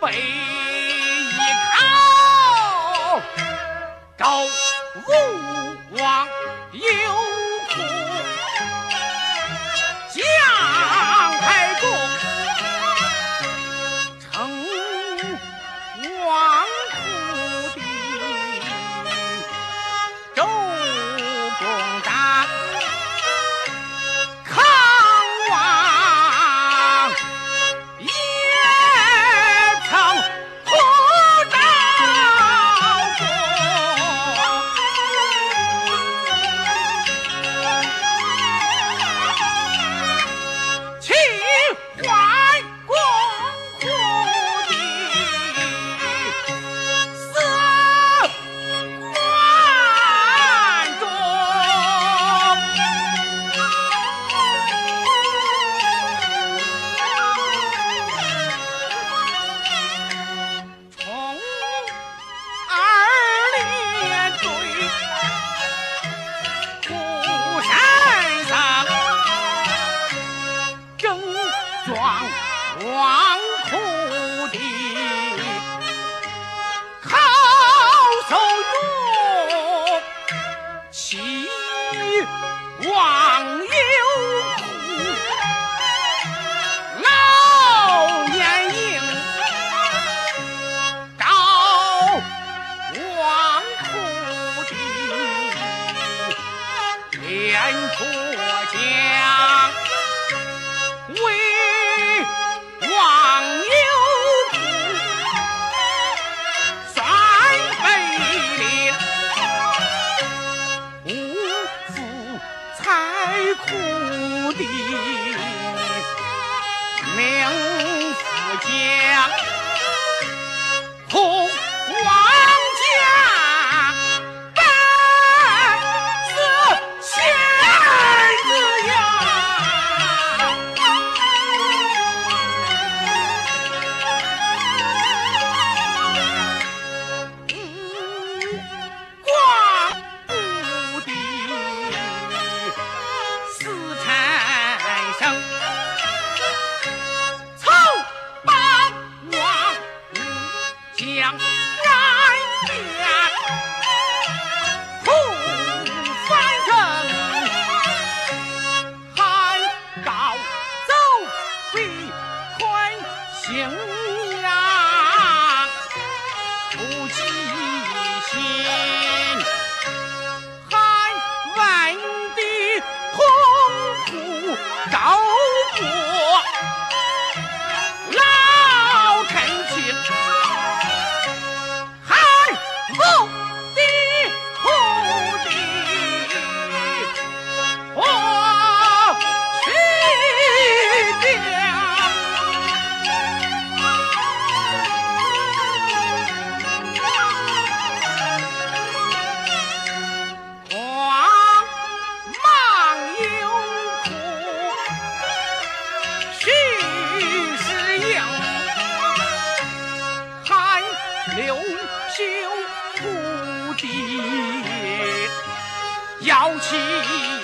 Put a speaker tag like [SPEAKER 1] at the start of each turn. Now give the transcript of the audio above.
[SPEAKER 1] 背一靠，周武王有苦，姜太公称王虎的周公旦，康王也曾护赵国，齐桓公虎的四关中，从二列队虎山上正装王虎的好手用，齐王有苦，老年营赵王虎的连出将，为王有苦算北陵，无父才苦的名副将，苦王家本是仙子呀，光武的四产生，曹霸王武将南边，胡翻腾，汉高祖比宽荥阳，不计心，汉文的洪虎赵国，老臣卿，汉武的虎的我去掉。王莽有苦，徐世英，汉刘秀虎的妖气。